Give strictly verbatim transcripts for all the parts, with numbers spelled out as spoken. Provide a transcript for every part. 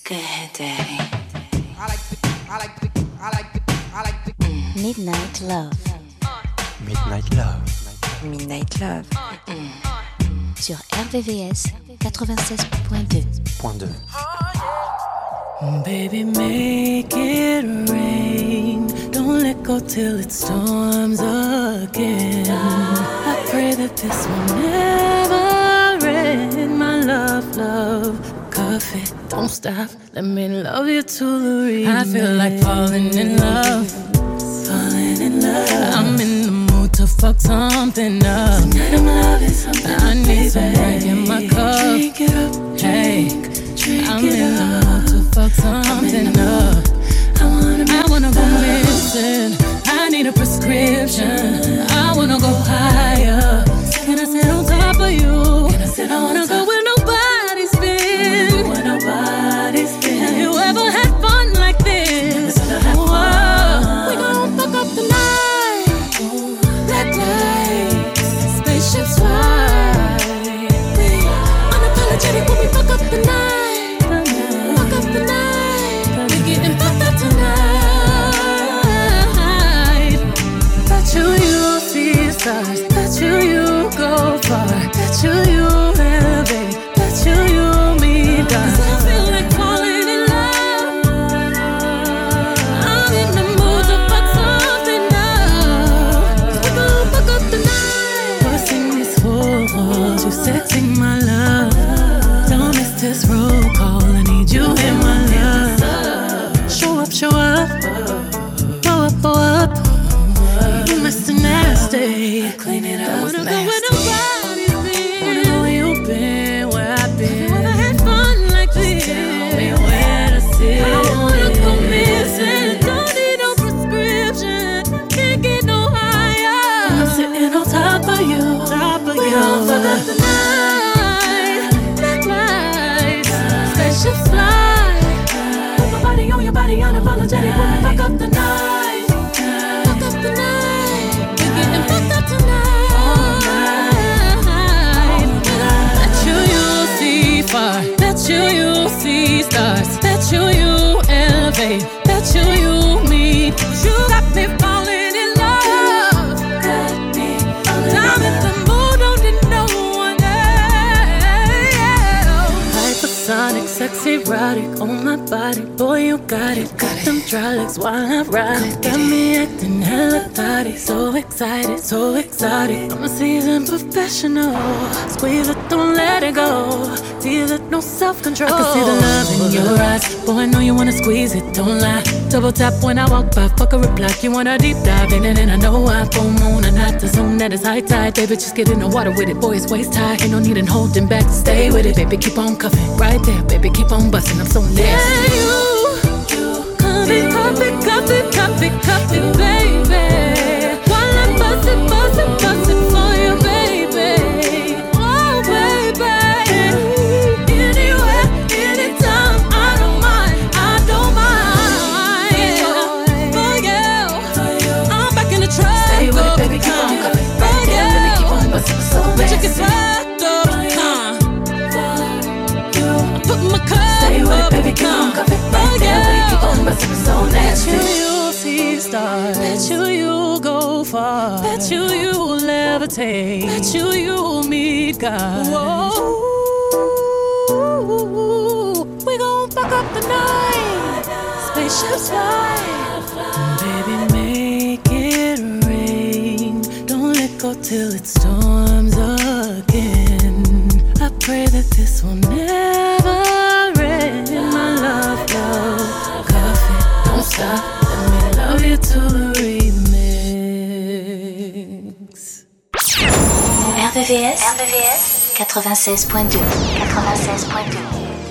Good day. I like the, I like the, I like the, I like the mm. Midnight Love. Midnight Love. Midnight Love. Mm. Sur R V V S quatre-vingt-seize point deux. Point deux. Baby, make it rain. Don't let go till it storms again. I pray that this will never end. My love, love, coffee, don't stop. Let me love you to the remix. I feel like falling in love. Falling in love. I'm in the mood to fuck something up. Tonight I'm loving something. I need some drink in my cup. Drink it up, drink, hey, drink I'm it in up. The mood to fuck something up. I wanna, I wanna go missing. I need a prescription. I wanna go higher. Can I sit on top of you? Can I sit I wanna go where nobody's been. Where nobody's been. Have you ever had fun like this? Whoa. We gon' fuck up the night. Black lights, spaceships fly. We unapologetic when we fuck up the night. Fuck up the night. We getting fucked up tonight. Bet you you see stars. Bet you you go far. Bet you you elevate. Bet you you meet God. 'Cause I feel like falling in love. I'm in the mood to fuck something up. We gon' fuck up the night. Busting these walls, you sexy my love. Don't miss this roll call. I need you in my love. Show up, show up. Blow up, blow up. You Mister Nasty. Clean it up. I wanna go where nobody's been. Wanna know where you've been, where I've been. Never had fun like this. Tell me where to sit. I wanna go missing. Don't need no prescription. Can't get no higher. I'm sitting on top of you. Top of we you. We gon' fuck up the night. Black lights, spaceships fly. Put my body on your body, unapologetic when we fuck up the night. Fuck up the night. We're getting fucked up tonight. All night. Bet you you'll see far. Bet you you'll see stars. Bet you you elevate. Bet you you meet. You got me falling in love. Got me falling in love. I'm in the mood, don't need no one else. Hypersonic, sexy, erotic on my body. Boy, you got it. Got them dry legs while I ride it. Got me acting hella thotty. So excited, so exotic. I'm a seasoned professional. Squeeze it, don't let it go. Feel it, no self-control. I can see the love in your eyes. Boy, I know you wanna squeeze it, don't lie. Double tap when I walk by, fuck a reply. You wanna deep dive in it, and I know I full moon and not the zone that is high tide. Baby, just get in the water with it. Boy, it's waist high. Ain't no need in holding back to stay with it. Baby, keep on cuffing right there. Baby, keep on busting. I'm so nasty. Yeah, you, you cup it, cup it, cup it, cup it, cup it, baby. While I'm bustin', bustin', bustin' for you, baby. Oh, baby. Anywhere, anytime, I don't mind, I don't mind. Yeah. For you, I'm back in the trap. Stay with it, baby, keep on cupping. Right there, baby, keep on bustin', so nasty. But you get swept up, huh? Put my cup stay with it, baby, keep on cupping. Right there, baby, keep on bustin', so nasty. Bet you you'll see stars. Bet you you'll go far. Bet you you'll levitate. Bet you you'll meet God. Whoa. We gon' fuck up the night. Spaceships fly. Baby, make it rain. Don't let go till it storms again. I pray that this will never end. My love, love, coffee, don't stop. Let me love you to the remix. R V V S, R V V S quatre-vingt-seize point deux. quatre-vingt-seize point deux.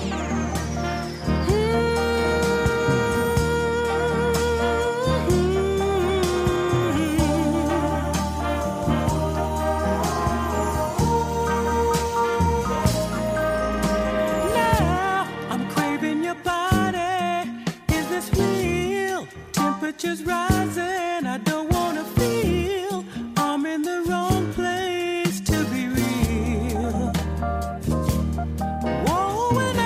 Temperatures rising, I don't wanna feel I'm in the wrong place to be real. Whoa, when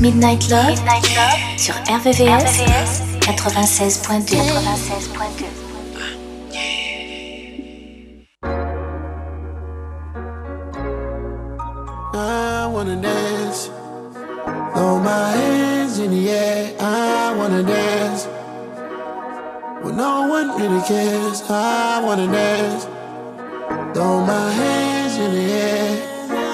Midnight Love, Midnight Love sur R V V S quatre-vingt-seize point deux. quatre-vingt-seize point deux. I wanna dance, throw my hands in the air. I wanna dance, when no one really cares. I wanna dance, throw my hands in the air.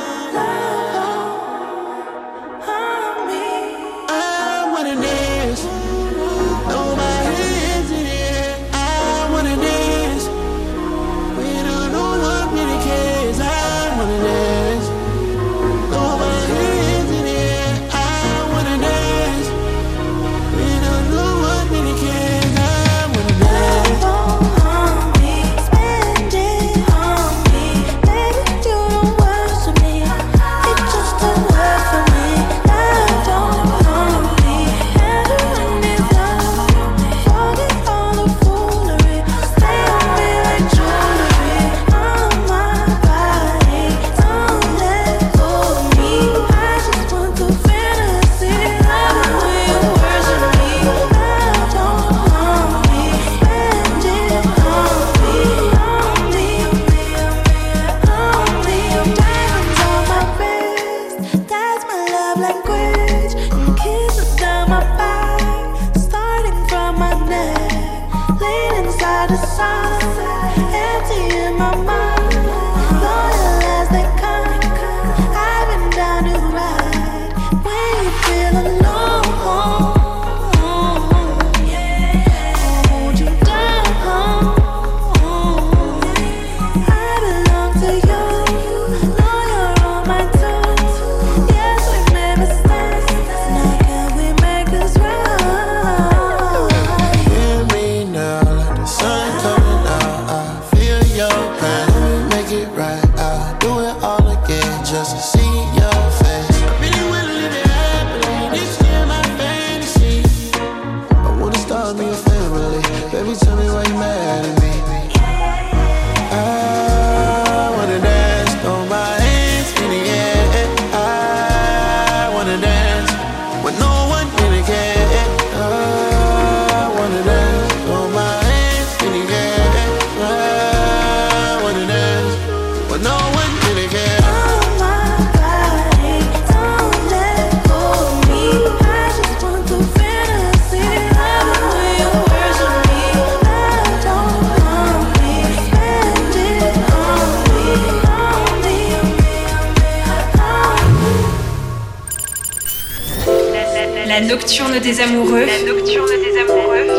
La nocturne des amoureux. La nocturne des amoureux.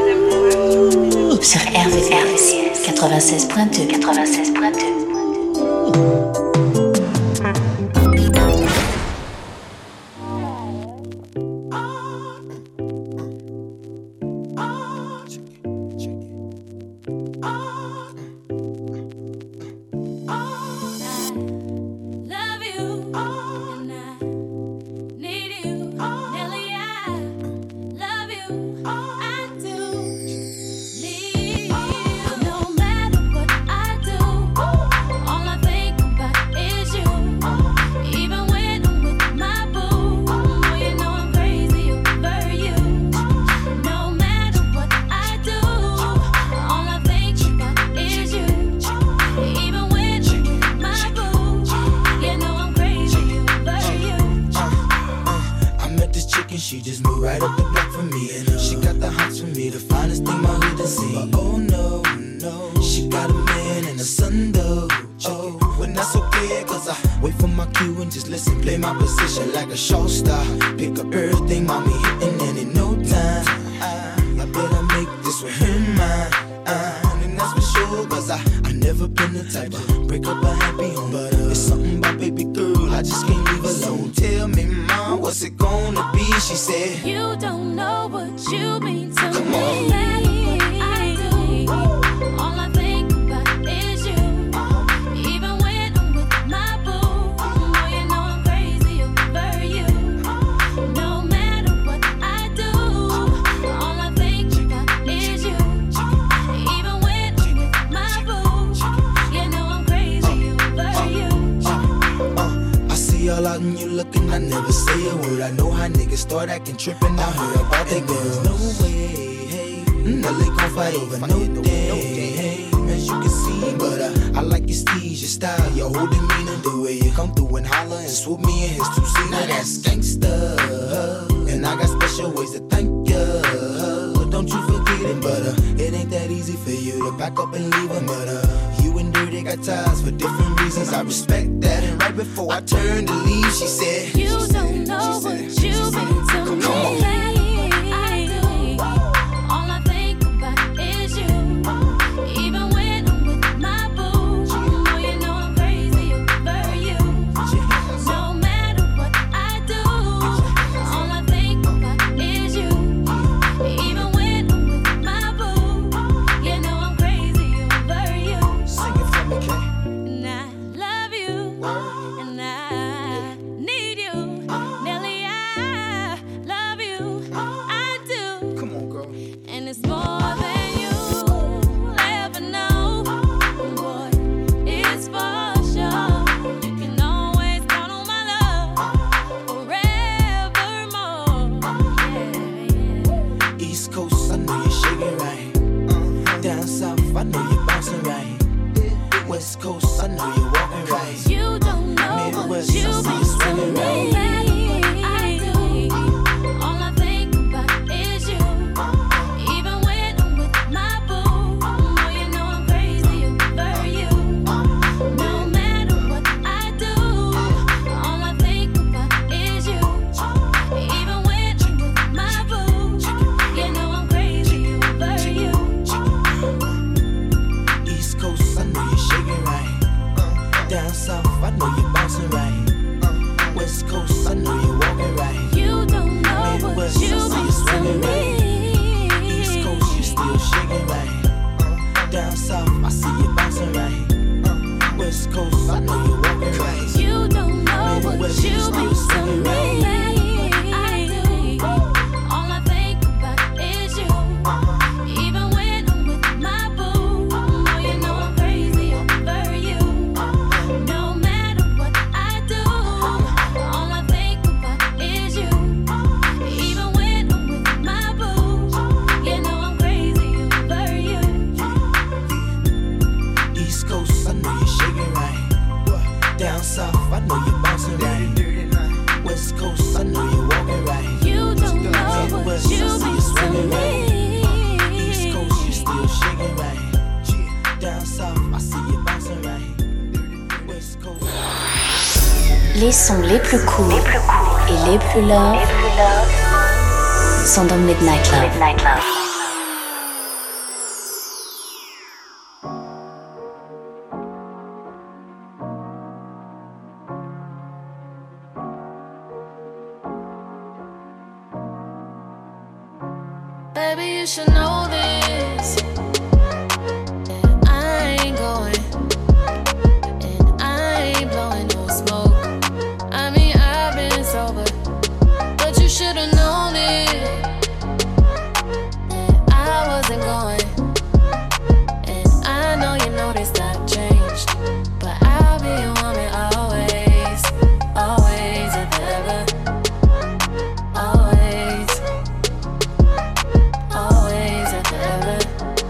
Sur R V V S quatre-vingt-seize point deux. quatre-vingt-seize point deux. She just moved right up the block for me, and uh, she got the hots for me, the finest thing my hood has seen. But oh no, no, she got a man and a son though. Oh, but that's okay, cause I wait for my cue and just listen, play my position like a show star. Pick up everything, mommy hitting, and in no time, I, I better make this with him mine. Uh, and that's for sure, cause I, I never been the type to break up a happy home. But uh, it's something about baby girl, I just can't leave alone. Tell me, mom, what's it gonna be? She said, you don't know what you mean to Come me. on. I do. All I think about is you. Even when I'm with my boo, oh, you know I'm crazy over you. No matter what I do, all I think about is you. Even when I'm with my boo, you know I'm crazy over you. uh, uh, I see all I sudden you looking, I never say a word. I know how niggas start acting trippin'. I heard about that girl. No way, hey. Now they gon' fight over no day, hey. As you can see, but uh, I like your steez, your style, your whole demeanor, the way you come through and holler and swoop me in his two-seater. Now that's gangsta, and I got special ways to thank ya. Don't you forget it, but uh, it ain't that easy for you to back up and leave him. But uh, you and Dirty got ties for different reasons. I respect that. And right before I turned to leave, she said, You don't know what you've been to me. Come on. Les sons les plus courts les plus cool et les plus love, les plus love sont dans Midnight Love. Midnight Love. Baby, you should know this. I ain't going, and I ain't blowing no smoke. I mean, I've been sober, but you should've known it. That I wasn't going, and I know you noticed I've changed, but I'll be your woman always, always and ever. Always, always and ever.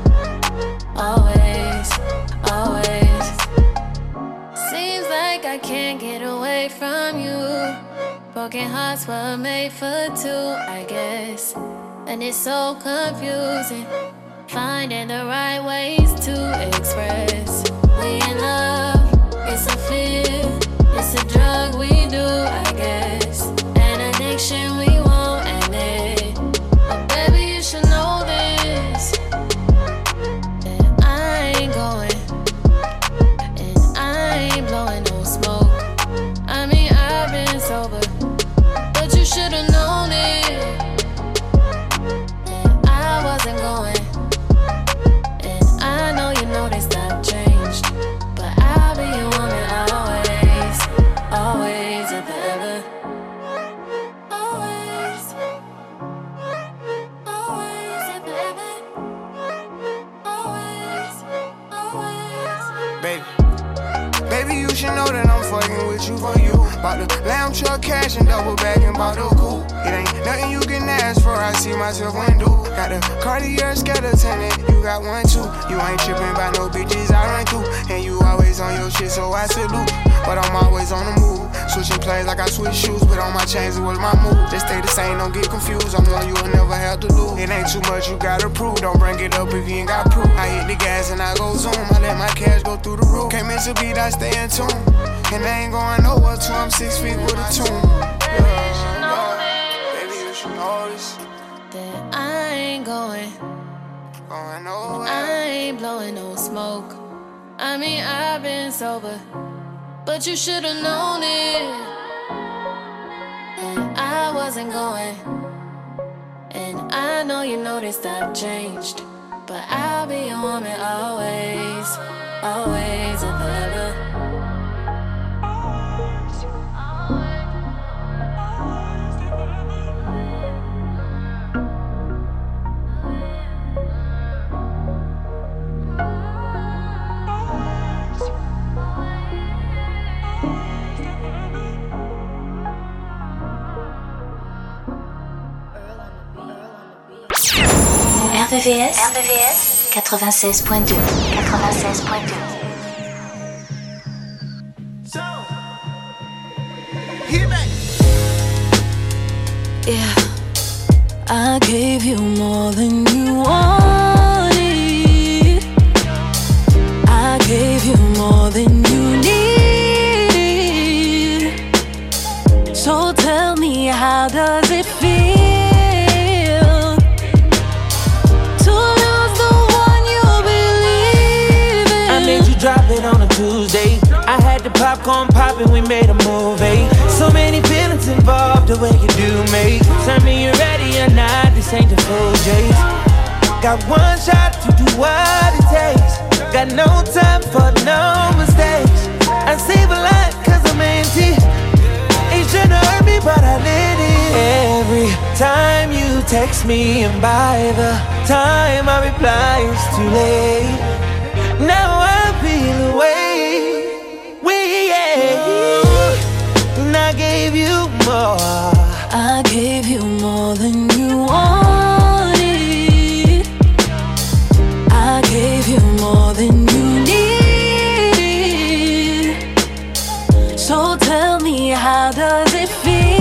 Always, always. Seems like I can't get away from you. Broken hearts were made for two, I guess. And it's so confusing, finding the right ways to express. We in love, it's a fear, it's a drug we do, I guess. An addiction we won't end it. But baby, you should know this. That I ain't going, and I ain't blowing no smoke. I mean, I've been sober, but you should've known it. That I wasn't going, and I know you noticed I've changed, but I'll be your woman always, Baby, you should know that I'm fucking with you for you. Bought the lamb truck cash and double back and bought the coupe. It ain't nothing you can ask for, I see myself undo. Got the Cartier skeleton and you got one too. You ain't tripping by no bitches I run through. And you always on your shit, so I salute. But I'm always on the move. Switching plays like I switch shoes, but on my chains it was my move. Just stay the same, don't get confused. I'm one you'll never have to lose. It ain't too much you gotta prove. Don't bring it up if you ain't got proof. I hit the gas and I go zoom. I let my cash go through the roof. Can't miss a beat, I stay in tune. And I ain't going nowhere till I'm six feet with a tune. Yeah, yeah. Baby, you should know this. That I ain't going. Going nowhere. I ain't blowing no smoke. I mean, I've been sober, but you should've known it. And I wasn't going. And I know you noticed I've changed, but I'll be your woman always, always and forever. R V V S, R V V S quatre-vingt-seize point deux. quatre-vingt-seize point deux. Yeah, I gave you more than you wanted. I gave you more than you needed. So tell me, how does it feel? Drop it on a Tuesday. I had the popcorn poppin', we made a movie. So many feelings involved, the way you do me. Tell me you're ready or not, this ain't the full J's. Got one shot to do what it takes. Got no time for no mistakes. I save a lot cause I'm empty. It shouldn't hurt me but I let it. Every time you text me and by the time I reply it's too late. Now I feel away, we yeah. And I gave you more. I gave you more than you wanted. I gave you more than you needed. So tell me, how does it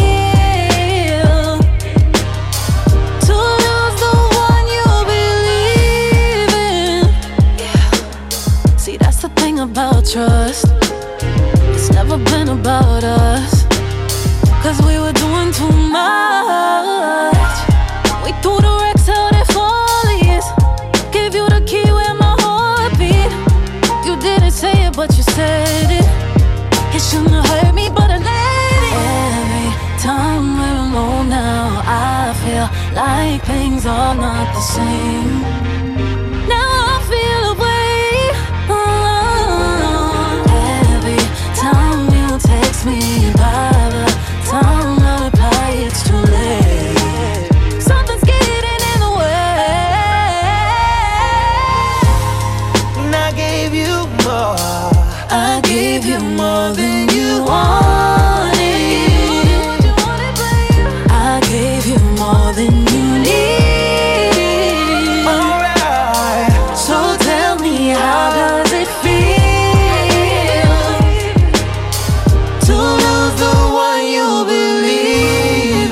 feel to lose the one you believe in? Yeah. See, that's the thing about trust. It's never been about us, cause we were doing too much. We threw the wrecks out at Follies. Gave you the key where my heart beat. You didn't say it, but you said it. It shouldn't have hurt me, but I let it. Every time we're alone now, I feel like things are not the same. Now I feel away. Oh, every time you text me, by the time I reply, it's too late. Something's getting in the way. And I gave you more. I gave you more than you wanted. I gave you more than you needed. Alright. So tell me, how does it feel to lose the one you believe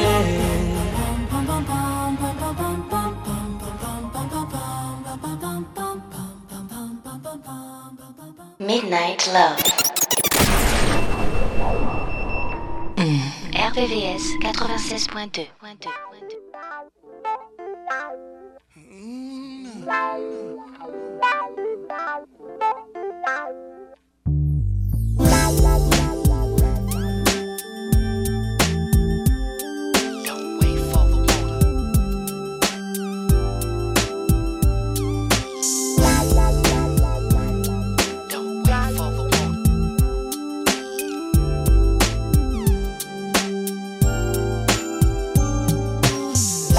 in? Midnight Love. Mm. R V V S quatre-vingt-seize point deux.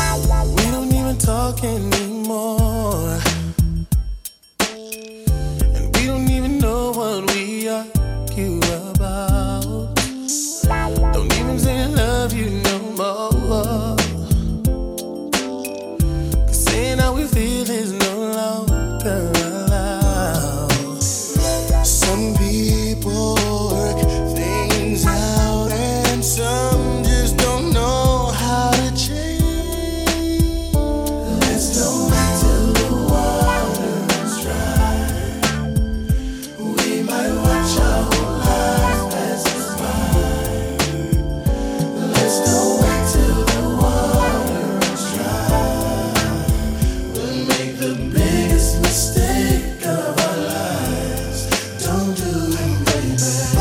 Talk anymore. you about. Don't even say I love you no more. Cause saying how we feel is no longer allowed. Some people work things out and some just don't know how to change. Let's don't wait till the water runs dry. We might watch our whole lives pass us by. Let's don't wait till the water runs dry. We'll make the biggest mistake of our lives. Don't do it, baby.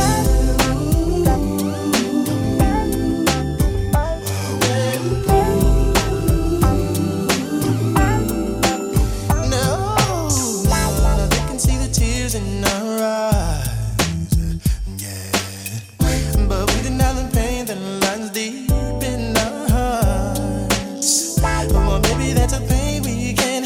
No, they can see the tears in our eyes, yeah. But we deny the pain that lies deep in our hearts. Well, maybe that's a pain we can't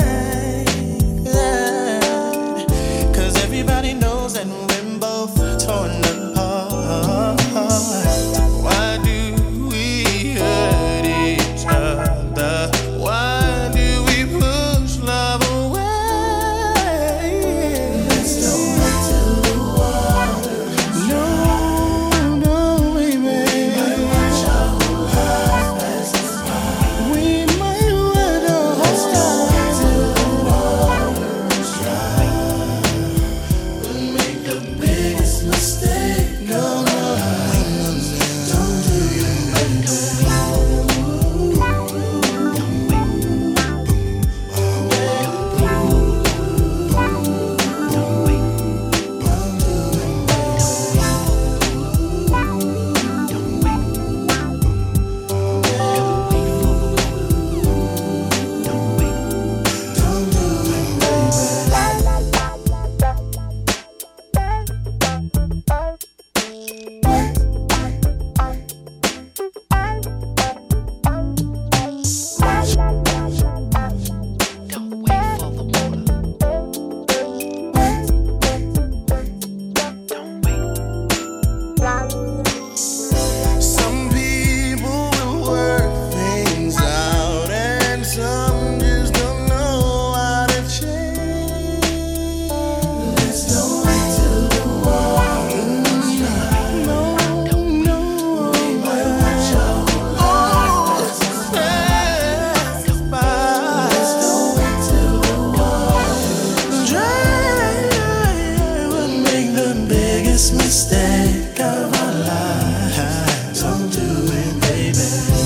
hide. Cause everybody knows that we're both torn apart. Why do we hurt each other? Why do we push love away? Let's don't wait till the water runs dry. No, no, baby. We might watch our whole lives pass us by. We might want our whole lives. Let's don't wait till the water runs dry. We'll make the biggest mistake of our lives. Don't do it, baby. Some people will work things out and some just don't know how to change. Let's don't wait till the water runs dry. No, no, we might watch our whole lives pass us by. Let's don't wait till the water runs dry. We'll make the biggest mistake of our lives. Don't do it, baby.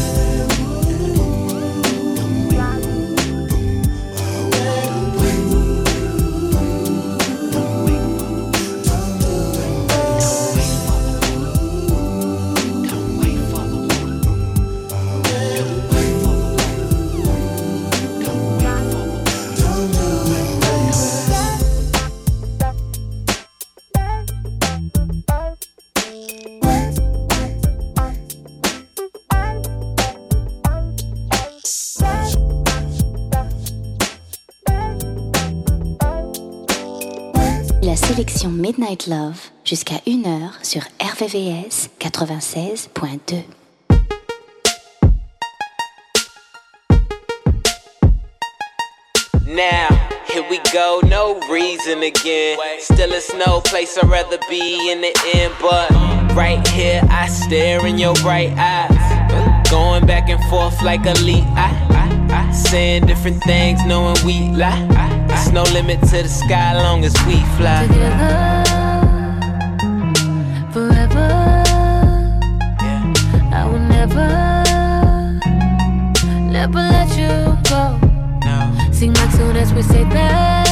La sélection Midnight Love jusqu'à une heure sur R V V S quatre-vingt-seize point deux. Now, here we go, no reason again. Still it's no place I'd rather be in the end, but right here I stare in your bright eyes, going back and forth like a lead. I, I, I, saying different things, knowing we lie. There's no limit to the sky, long as we fly. Together, forever. Yeah. I will never, never let you go. No. Seem like soon as we say that,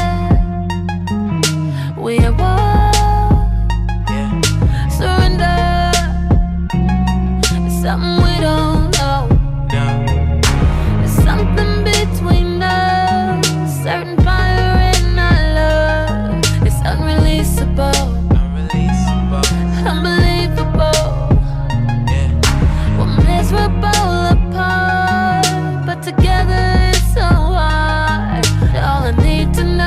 we are one. Yeah. Surrender. It's something we don't know. No. There's something between us, certain fire in our love. It's unreleasable, Unreleasable. unbelievable. Yeah. We're miserable apart, but together it's so hard. All I need to know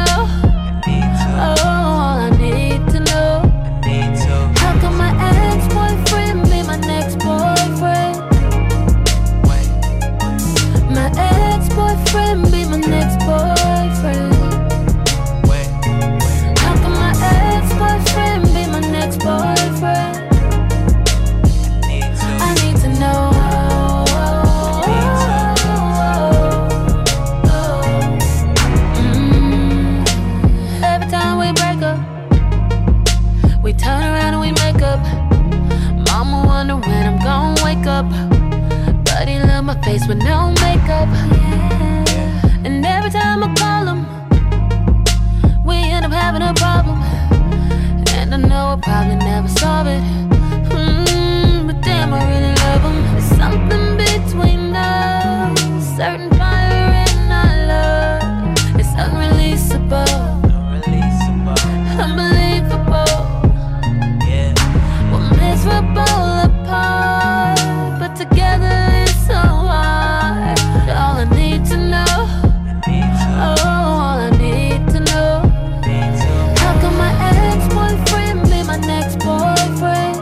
turn around and we make up. Mama wonder when I'm gonna wake up. But he love my face with no makeup. And every time I call him, we end up having a problem. And I know I'll probably never solve it. Mm, but damn, I really love him. There's something between us, certain fire in our love. It's unreleasable, unbelievable. Yeah, we're miserable apart, but together it's so hard. All I need to know, oh, all I need to know. How come my ex-boyfriend be my next boyfriend?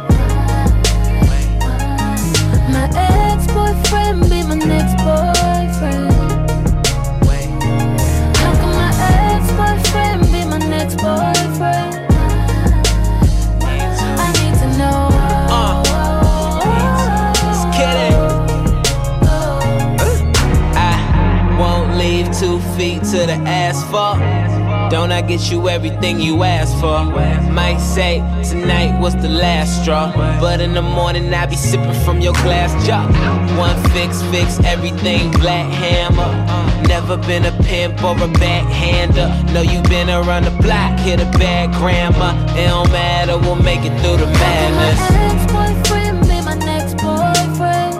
My ex-boyfriend be my next boyfriend. How come my ex-boyfriend be my next boyfriend? I need to know. Uh, just kidding. I won't leave two feet to the asphalt. Don't I get you everything you asked for? Might say tonight was the last straw, but in the morning I be sipping from your glass jar. One fix, fix everything, black hammer. Never been a pimp or a backhander. Know you been around the block, hit a bad grandma. It don't matter, we'll make it through the madness. My ex-boyfriend be my next boyfriend.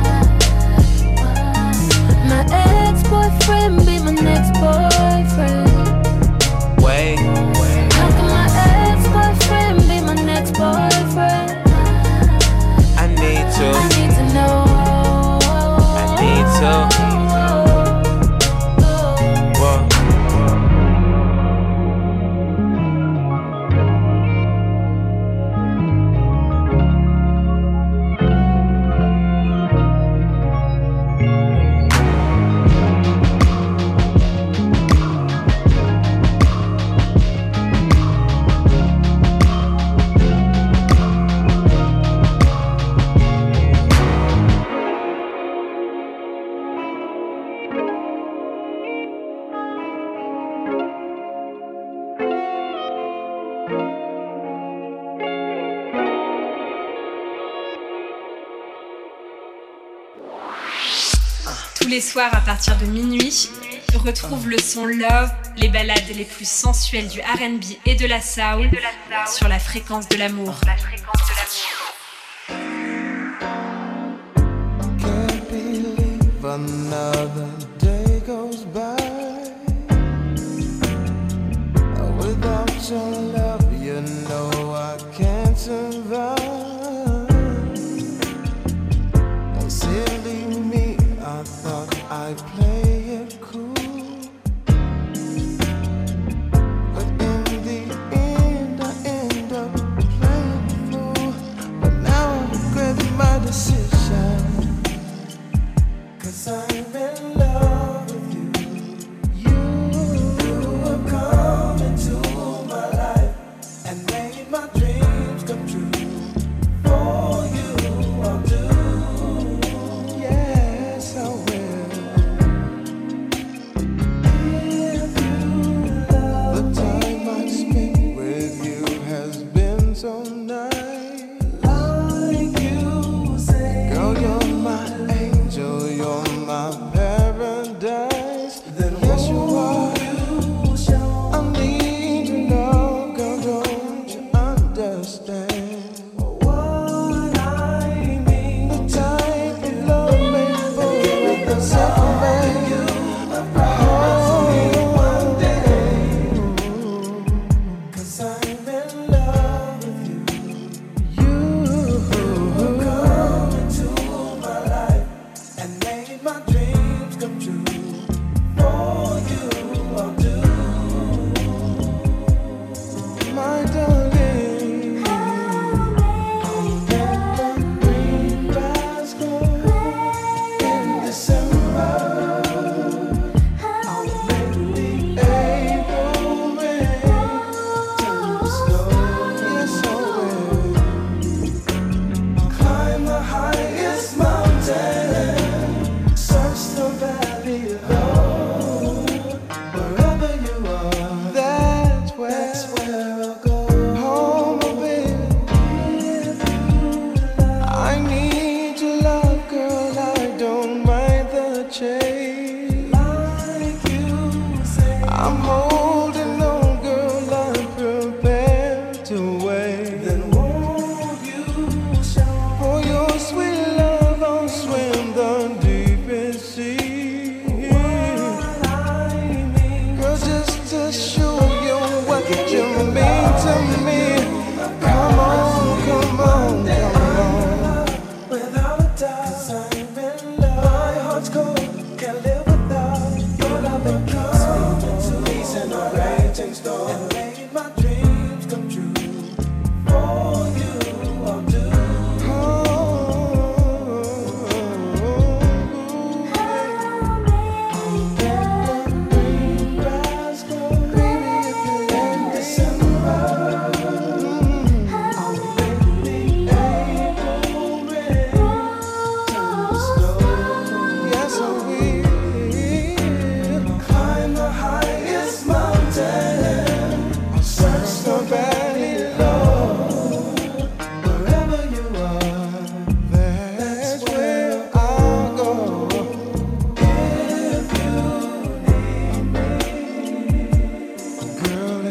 My ex-boyfriend be my next boyfriend. Wait, wait. How come my ex-boyfriend be my next boyfriend? I need to, I need to know. I need to. Whoa. Tous les soirs à partir de minuit, retrouve le son Love, les ballades les plus sensuelles du R and B et de la soul sur la fréquence de l'amour. Can't believe another day goes by without your love. You know I can't survive. Silly me, I thought I'd play it cool, but in the end I end up playing the fool. But now I regret my decision, 'cause I'm in love.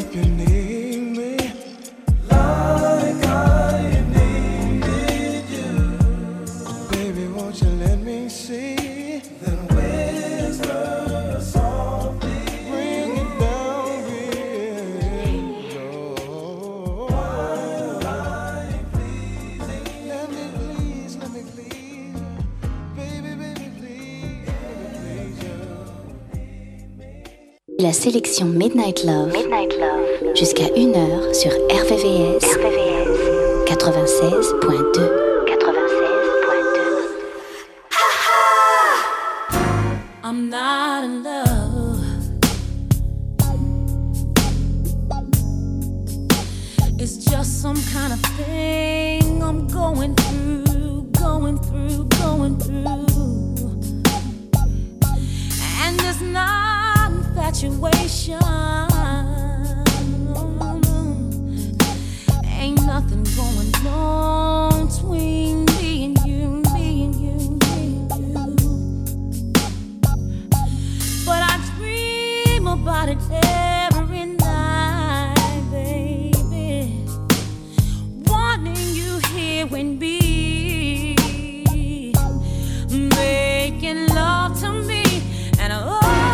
if you need me like I needed you. Baby, won't you let me see? Then whisper softly, bring it down real low. While I'm pleasing, let me please, let me please you. Baby, baby, please, let me please you. La sélection Midnight Love, Midnight Love. Jusqu'à une heure sur R V V S, R V V S quatre-vingt-seize point deux. I'm not in love. It's just some kind of thing I'm going through, going through, going through. And it's not infatuation. Ain't nothing going on between me and you, me and you, me and you. But I dream about it every night, baby. Wanting you here with me, making love to me, and oh,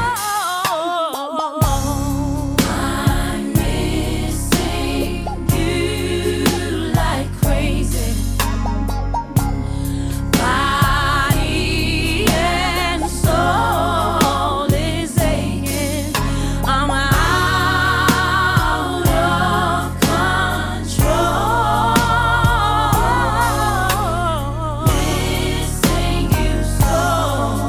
I'm missing you like crazy. Body and soul is aching. I'm out of control. Missing you so.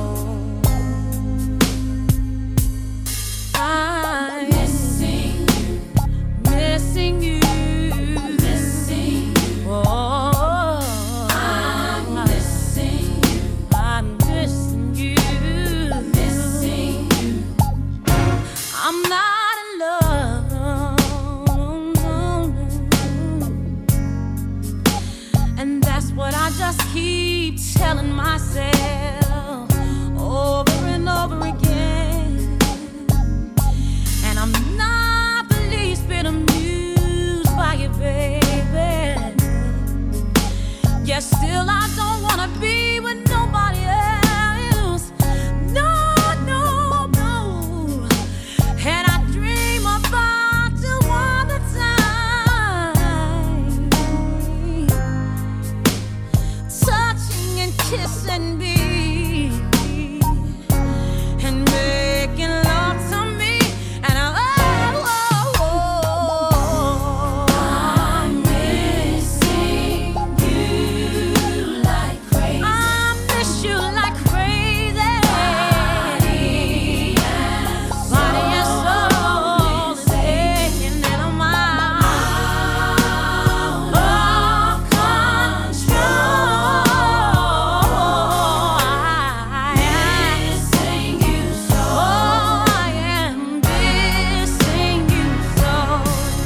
I'm missing you, missing you, missing you. Oh, I'm missing you, I'm missing you, missing you. I'm not in love, no, no. And that's what I just keep telling myself over and over again. And I'm not the least bit amused by you, baby. Yet still I don't wanna be with nobody else. No, no, no. And I dream about you all the time, touching and kissing me, and making love to me, and oh, oh, oh, I'm missing you like crazy. I miss you like crazy. Body and soul, body and soul is aching, and I'm out of control. I am missing you so. I am missing you so.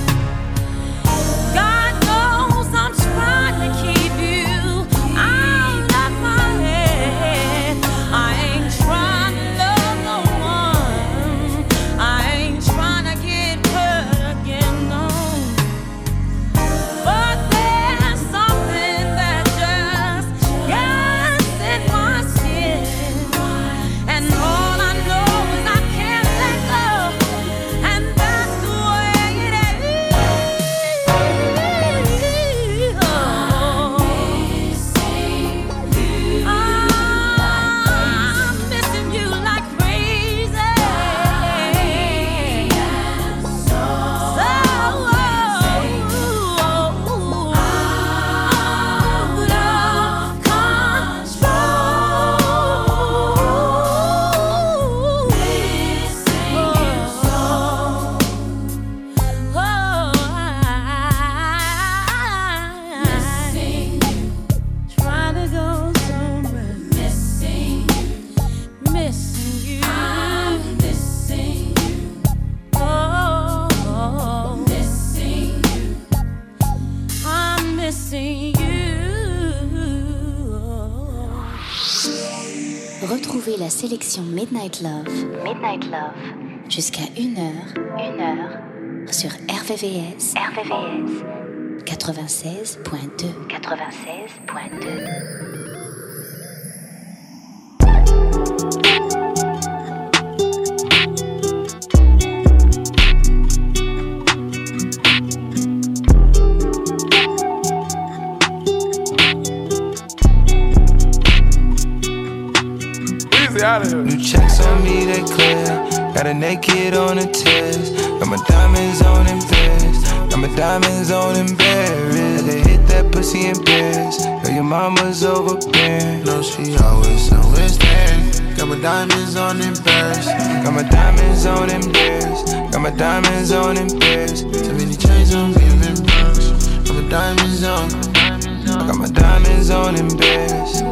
God knows I'm trying to keep you out of my head. I ain't trying to love no one. I ain't trying to get hurt again, no. But there's something that just gets in my skin, and all I know is I can't let go, and that's the way it is. Oh, I'm missing you like crazy. So out of control. Missing you so. Oh, I'm missing you. Trying to go somewhere. Missing you, missing you. I'm missing you. Oh, missing you. I'm missing you. Retrouvez la sélection Midnight Love, Midnight Love. Jusqu'à une heure, une heure sur R V V S, R V V S quatre-vingt-seize point deux, quatre-vingt-seize point deux. New checks on me, they clear. Got a naked on a test. Got my diamonds on them beds. Got my diamonds on them berries. They hit that pussy in pairs. Girl, your mama's overbearing. No, she always, always there. Got my diamonds on them birds. Got my diamonds on them bears. Got my diamonds on them bears. So many chains on me, and them birds. Got my diamonds on. I got my diamonds on them bears.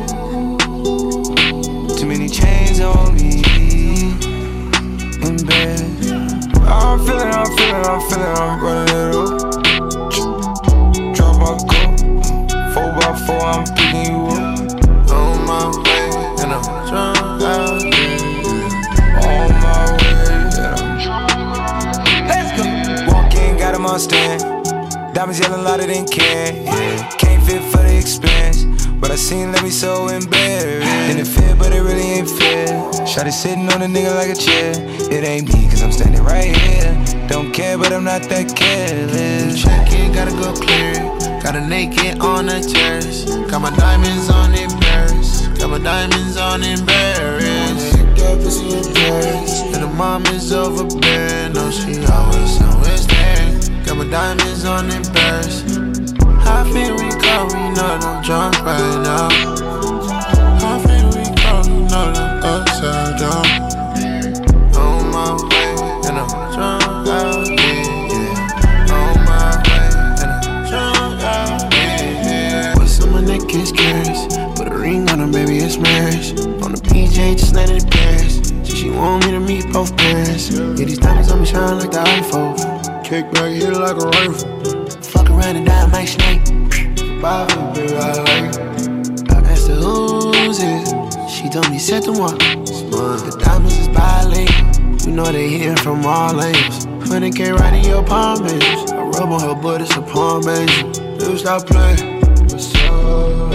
Too many chains on me in bed. I'm feeling, I'm feeling, I'm feeling, I'm running it up. Drop my cup, four by four, I'm picking you up. On my way, and I'm drunk out here. On my way, and I'm let's go. Walk in, got him on stand. Diamonds yelling louder than can. Yeah. Can't fit for the expense. But I seen let me so embarrassed. And it fit, but it really ain't fair. Shawty sitting on a nigga like a chair. It ain't me, cause I'm standing right here. Don't care, but I'm not that careless. Check it, gotta go clear it. Got a naked on the terrace. Got my diamonds on it, birds. Got my diamonds on it, berries. That pussy in Paris. And the mom is overbearing. No, she always, always there. Got my diamonds on it, birds. How feel we go, we know that I'm drunk right now. How feel we go, we know that I'm upside down. On my way, and I'm drunk out here, yeah. On my way, and I'm drunk out here, yeah. What's on my neck is curious. Put a ring on her, baby, it's marriage. On the P J, just landed in Paris. So she want me to meet both parents. Yeah, these diamonds on me shine like the iPhone. Kick back here like a rifle. Fuck around and die, my snake. Bye, baby, I like it. I asked her who's it. She told me set the one. The diamonds is bilingual. You know they hitting from all angles. Honey K right in your palm, baby. I rub on her butt, it's a palm, baby. Dude, stop playing. What's up?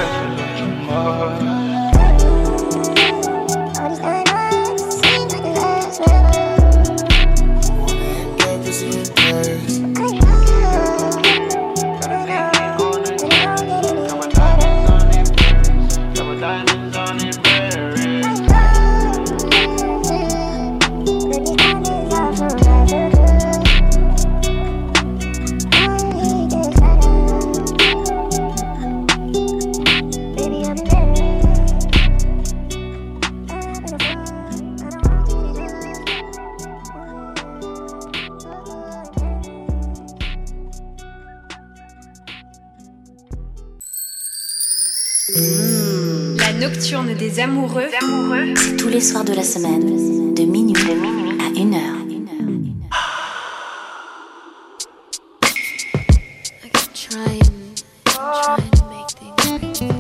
La nocturne des amoureux, c'est tous les soirs de la semaine, de minuit, de minuit à une heure. I keep trying, trying to make things right.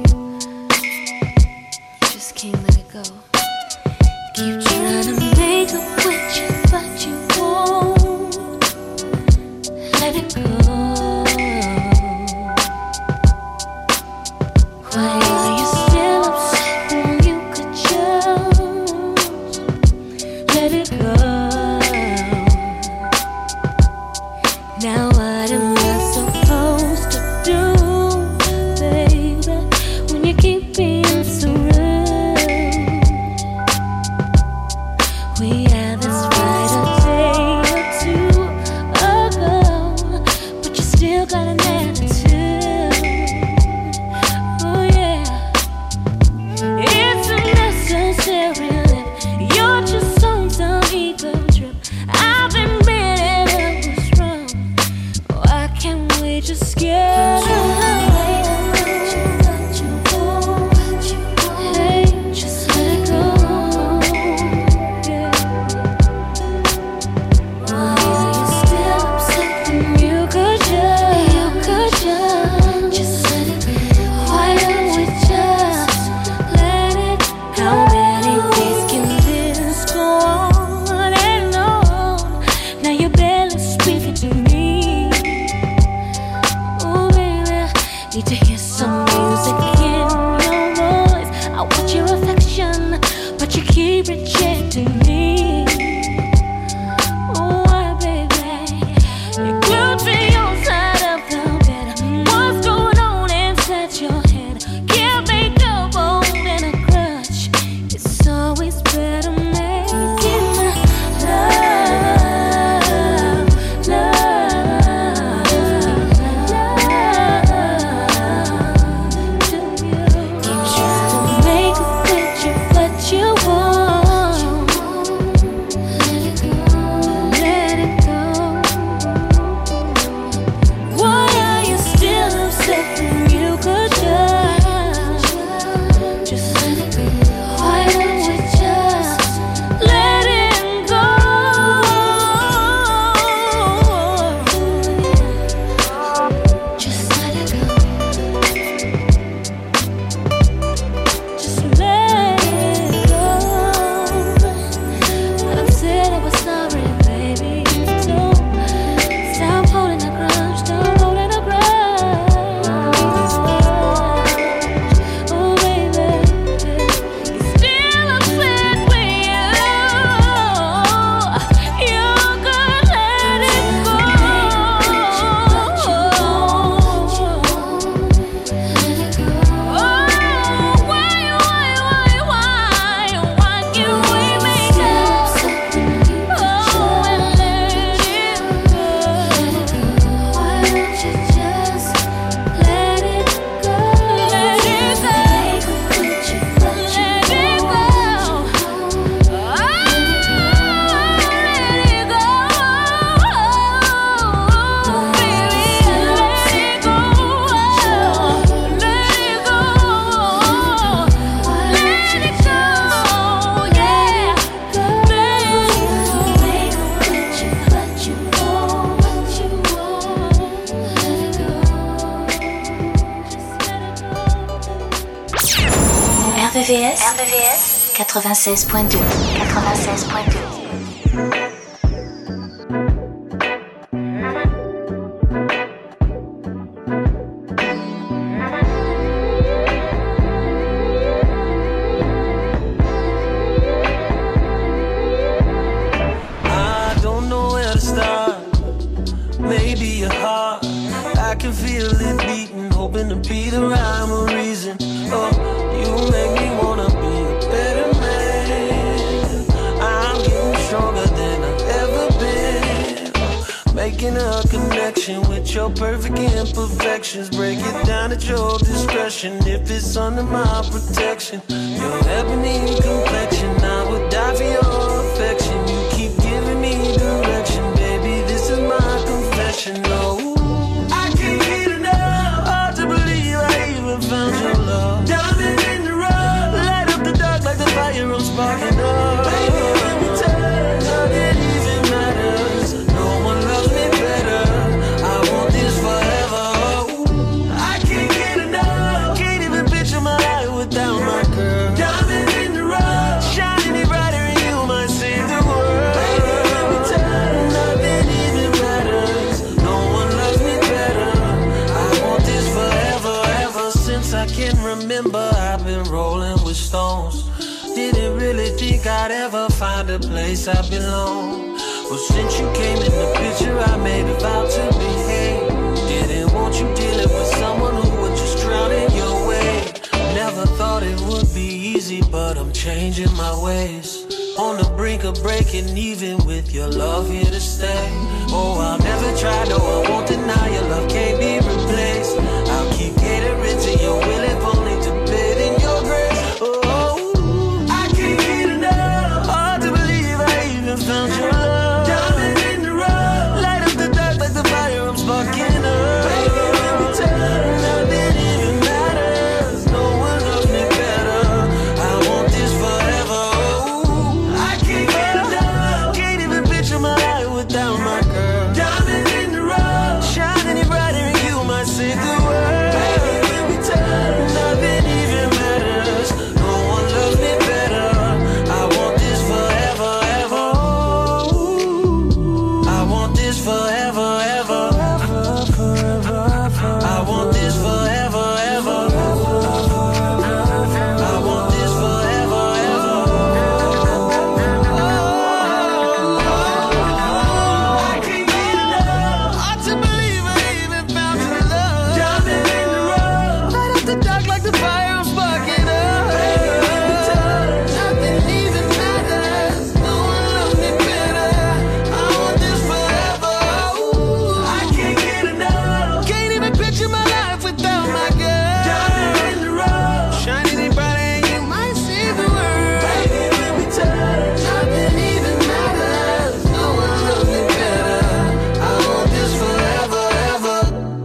You just can't let it go. Keep trying to make up with you, but you won't let it go. Why are you still upset when you could just let it go? Now what am I supposed to do, baby, when you keep being so rude? We had this fight a day or two ago, but you still got an attitude. Oh yeah, it's unnecessary. You're just on some ego trip. I've admitted it was wrong. Why can't we just get Hey, just let it go. Yeah. Why are you still upset when you could just, you could just, just let it go? Why don't we just let it? How many days can this go on and on? Now you're barely speaking. V S, R V V S quatre-vingt-seize point deux. quatre-vingt-seize point deux. Perfect imperfections, break it down at your discretion. If it's under my protection, your ebony complexion, I would die for your affection. You keep giving me direction, baby. This is my confession. Oh, I can't get enough. Hard to believe I even found your love. Diamond in the rough, light up the dark like the fire I'm sparking up. Baby, when we touch, nothing even matters. No one loves me better. Remember, I've been rolling with stones. Didn't really think I'd ever find a place I belong. But since you came in the picture, I made a vow to behave. Didn't want you dealing with someone who would just drown in your way. Never thought it would be easy, but I'm changing my ways. On the brink of breaking even with your love here to stay. Oh, I'll never try, no, I won't deny your love can't be replaced. I'll keep catering to your will if only to bid in your grace. Oh, I can't get enough. Hard to believe I even found your love. Diamond in the rough, light up the dark like the fire I'm sparking up. Baby, when we touch, nothing even matters. No one loves me better. I want this forever. Oh, I can't get enough. Can't even picture my life without my girl. Diamond in the rough, shining it brighter and you might save the world. Baby, when we touch, nothing even matters. No one loves me better. I want this forever, ever. I want this forever, ever. I want this forever, ever. I want this forever, ever. I can't get enough. Hard to believe I even found your love. Diamond in the rough, light up the dark like the fire I'm sparking up. Baby, when we touch, nothing even matters. No one loves me better. I want this forever. Ooh, I can't get enough. Can't even picture my life without my girl. Diamond in the rough, shining it brighter and you might see the world. Baby, when we touch, nothing even matters. No one loves me better. I want this forever, ever.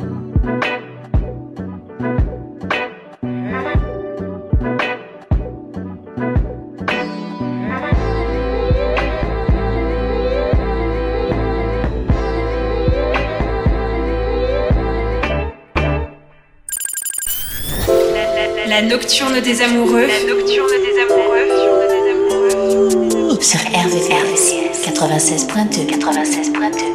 La nocturne des amoureux. La nocturne des amoureux. Sur R V V S quatre-vingt-seize point deux. quatre-vingt-seize point deux.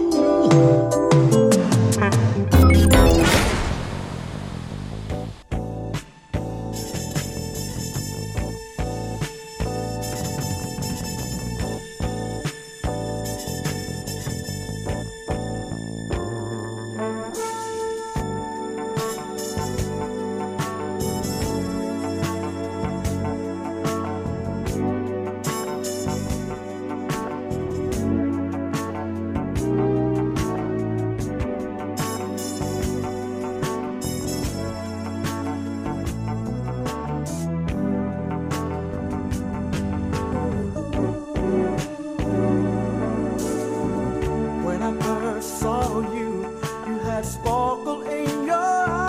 When I first saw you, you had sparkle in your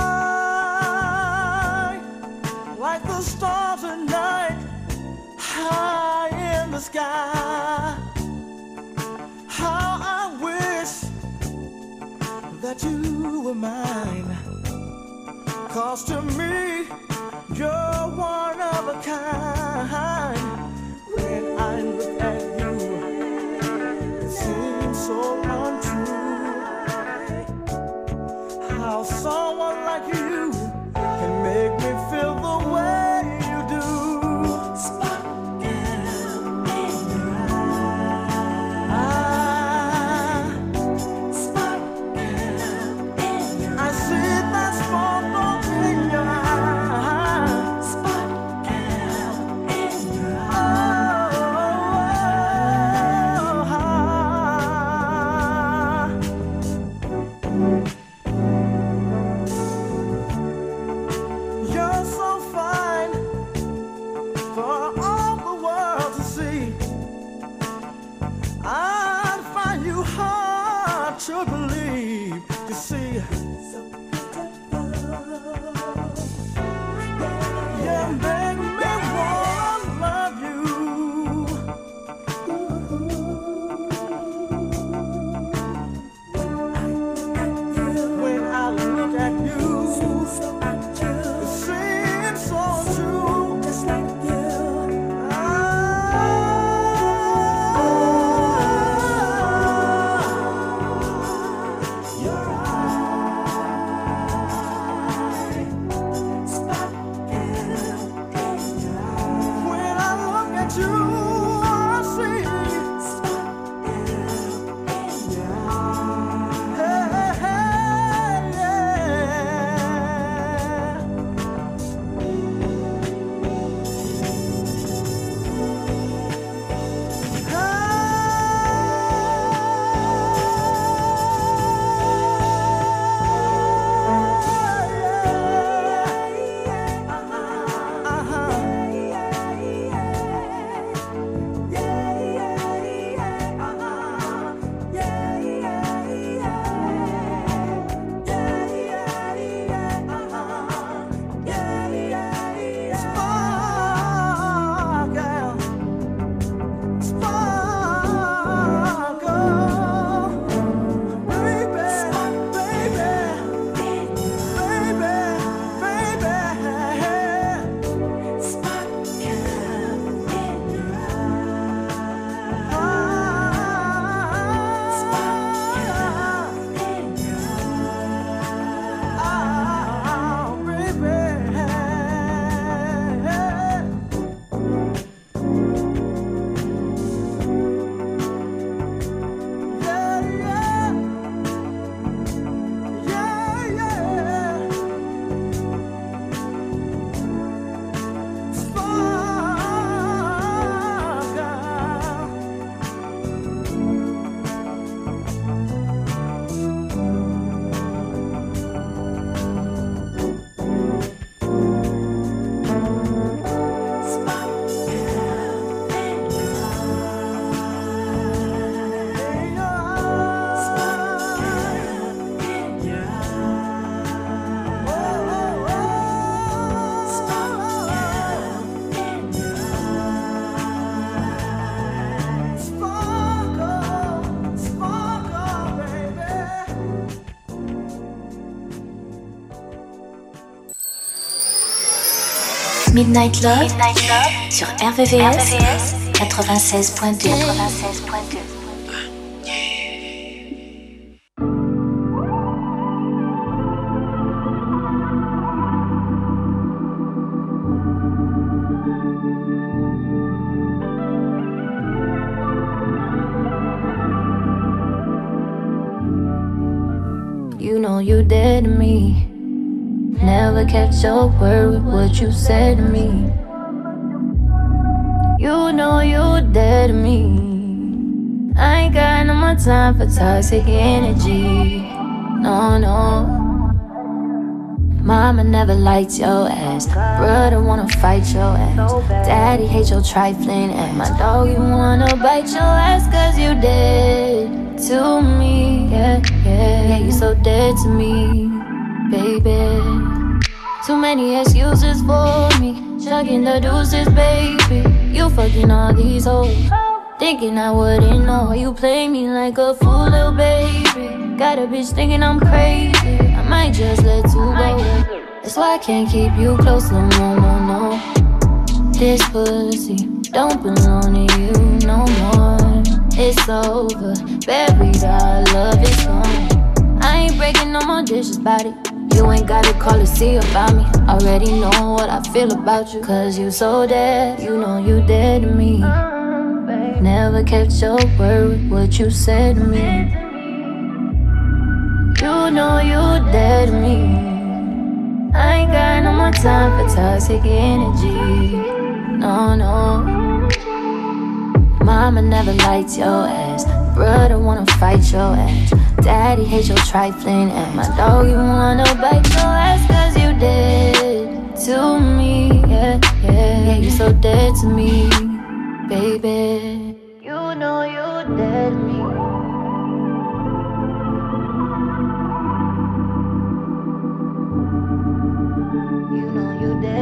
eye, like the stars at night, high in the sky. How I wish that you were mine, 'cause to me, you're one of of a kind. When I look at you, it seems so untrue. How someone like you can make me feel the way you do. Sparkle in your eye. Sparkle in your eye. I see that sparkle in your eye. Sparkle in your eye. You're so fine for all the world to see. I'd find you hard to believe. You see, you make me wanna love you. When I look at you, it seems so true, just like you. Your eye, sparkle in your eye. When I look at you, I see sparkle in your eye. Hey, hey, Midnight Love, Midnight Love sur R V V S quatre-vingt-seize point deux. quatre-vingt-seize point deux. You know you dead to me. Never kept your word with what you said to me. You know you dead to me. I ain't got no more time for toxic energy. No, no. Mama never liked your ass. Brother wanna fight your ass. Daddy hate your trifling ass. My dog, you wanna bite your ass cause you dead to me. Yeah, yeah, yeah, you so dead to me, baby. Too many excuses for me. Chugging the deuces, baby. You fucking all these hoes. Thinking I wouldn't know. You play me like a fool, little baby. Got a bitch thinking I'm crazy. I might just let you go. That's why I can't keep you close no more, no, no. This pussy don't belong to you no more. It's over, buried, our love is gone. I ain't breaking no more dishes about it. You ain't gotta call to see about me. Already know what I feel about you. Cause you so dead, you know you dead to me. Never kept your word with what you said to me. You know you dead to me. I ain't got no more time for toxic energy. No, no. Mama never liked your ass. Brother wanna fight your ass. Daddy hates your trifling ass. My dog, you wanna bite your ass. Cause you dead to me. Yeah, yeah, yeah, you so dead to me, baby. You know you dead to me. You know you dead.